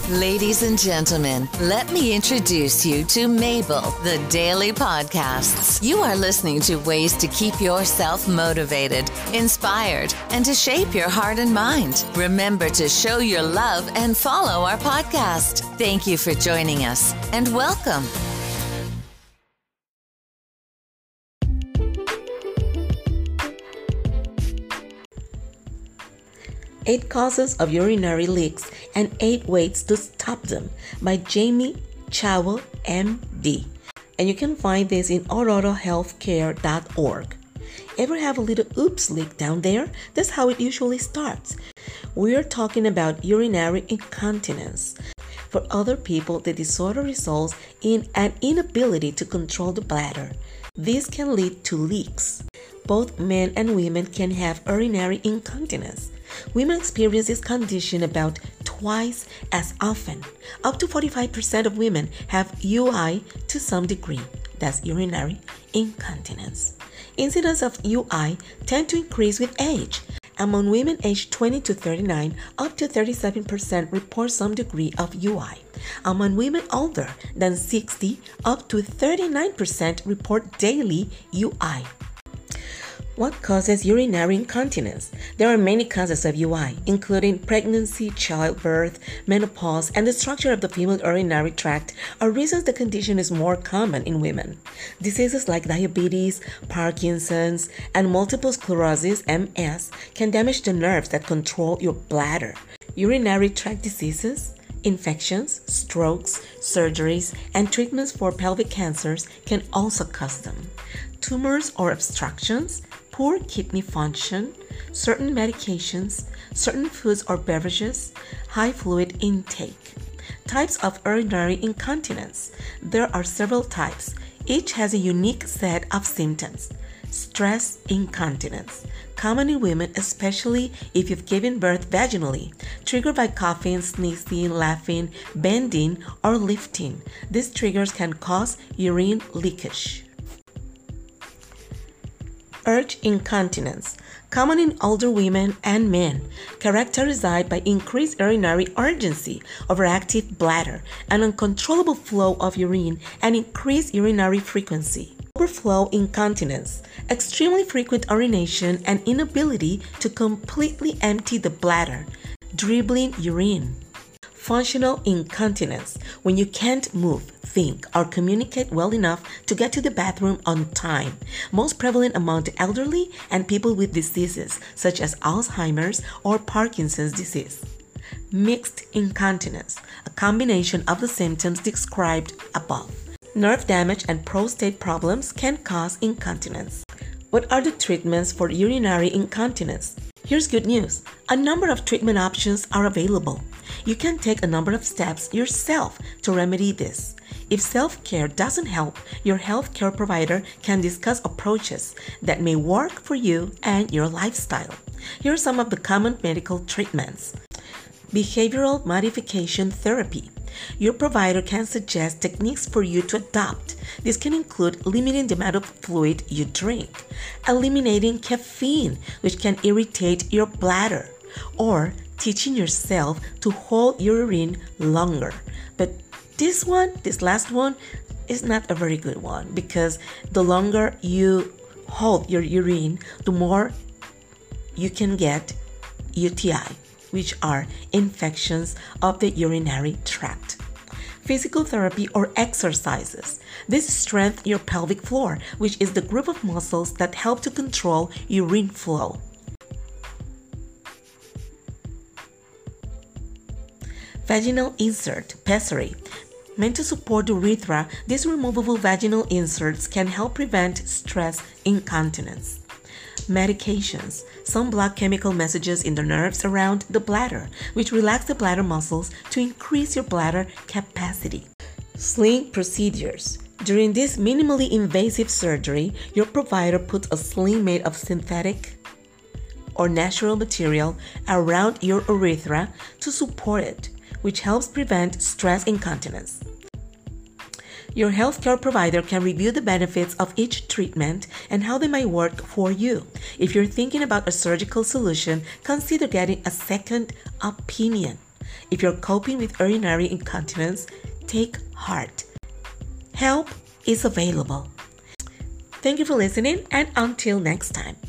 Ladies and gentlemen, let me introduce you to Mabel, the Daily Podcasts. You are listening to ways to keep yourself motivated, inspired, and to shape your heart and mind. Remember to show your love and follow our podcast. Thank you for joining us, and welcome. Eight Causes of Urinary Leaks and 8 Ways to Stop Them by Jamie Chowell, MD. And you can find this in aurorahealthcare.org. Ever have a little oops leak down there? That's how it usually starts. We're talking about urinary incontinence. For other people, the disorder results in an inability to control the bladder. This can lead to leaks. Both men and women can have urinary incontinence. Women experience this condition about twice as often. Up to 45% of women have UI to some degree. That's urinary incontinence. Incidence of UI tend to increase with age. Among women aged 20 to 39, up to 37% report some degree of UI. Among women older than 60, up to 39% report daily UI. What causes urinary incontinence? There are many causes of UI, including pregnancy, childbirth, menopause, and the structure of the female urinary tract are reasons the condition is more common in women. Diseases like diabetes, Parkinson's, and multiple sclerosis, MS, can damage the nerves that control your bladder. Urinary tract diseases, infections, strokes, surgeries, and treatments for pelvic cancers can also cause them. Tumors or obstructions, poor kidney function, certain medications, certain foods or beverages, high fluid intake. Types of urinary incontinence. There are several types. Each has a unique set of symptoms. Stress incontinence. Common in women, especially if you've given birth vaginally, triggered by coughing, sneezing, laughing, bending, or lifting. These triggers can cause urine leakage. Urge incontinence, common in older women and men, characterized by increased urinary urgency, overactive bladder, an uncontrollable flow of urine, and increased urinary frequency. Overflow incontinence, extremely frequent urination and inability to completely empty the bladder, dribbling urine. Functional incontinence, when you can't move, think, or communicate well enough to get to the bathroom on time. Most prevalent among the elderly and people with diseases such as Alzheimer's or Parkinson's disease. Mixed incontinence, a combination of the symptoms described above. Nerve damage and prostate problems can cause incontinence. What are the treatments for urinary incontinence? Here's good news. A number of treatment options are available. You can take a number of steps yourself to remedy this. If self-care doesn't help, your healthcare provider can discuss approaches that may work for you and your lifestyle. Here are some of the common medical treatments. Behavioral modification therapy. Your provider can suggest techniques for you to adopt. This can include limiting the amount of fluid you drink, eliminating caffeine, which can irritate your bladder, or teaching yourself to hold your urine longer. But this last one, is not a very good one, because the longer you hold your urine, the more you can get UTI, which are infections of the urinary tract. Physical therapy or exercises. This strengthens your pelvic floor, which is the group of muscles that help to control urine flow. Vaginal insert, pessary. Meant to support the urethra, these removable vaginal inserts can help prevent stress incontinence. Medications. Some block chemical messages in the nerves around the bladder, which relax the bladder muscles to increase your bladder capacity. Sling procedures. During this minimally invasive surgery, your provider puts a sling made of synthetic or natural material around your urethra to support it, which helps prevent stress incontinence. Your healthcare provider can review the benefits of each treatment and how they might work for you. If you're thinking about a surgical solution, consider getting a second opinion. If you're coping with urinary incontinence, take heart. Help is available. Thank you for listening, and until next time.